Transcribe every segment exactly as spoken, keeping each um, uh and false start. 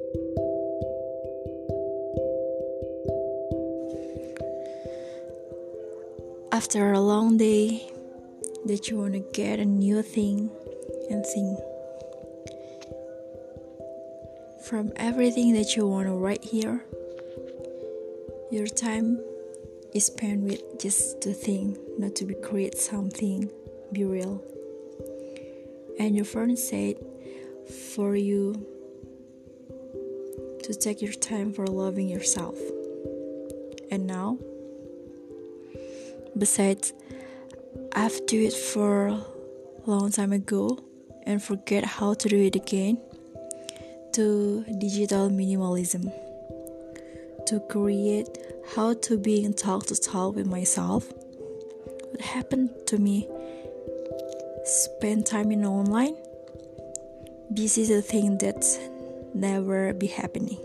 After a long day that you want to get a new thing and think, from everything that you want to write here, your time is spent with just to think, not to be create something, be real. And your friend said for you to take your time for loving yourself. And now, besides, I've do it for a long time ago and forget how to do it again, to digital minimalism, to create how to be in talk to talk with myself. What happened to me? Spend time in online. This is a thing that's never be happening.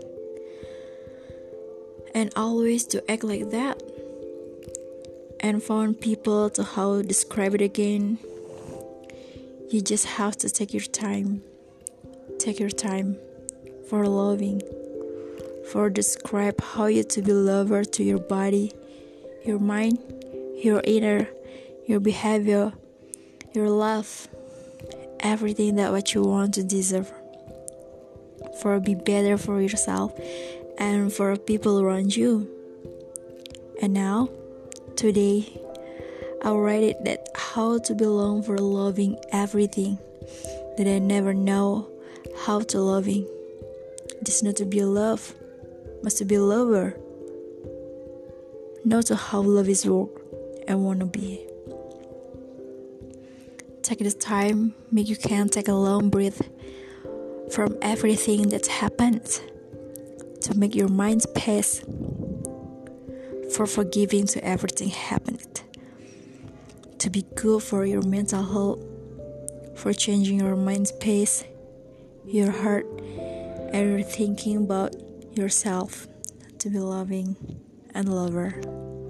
And always to act like that. And found people to how to describe it again. You just have to take your time. Take your time for loving. For describe how you to be lover to your body, your mind, your inner, your behavior, your love, everything that what you want to deserve. For be better for yourself and for people around you. And now, today, I'll write it that how to belong for loving everything that I never know how to loving. Just not to be love, must to be lover. Not to how love is work and wanna be. Take this time, make you can take a long breath from everything that's happened to make your mind space for forgiving to everything happened, to be good for your mental health, for changing your mind space, your heart, and your thinking about yourself, to be loving and lover.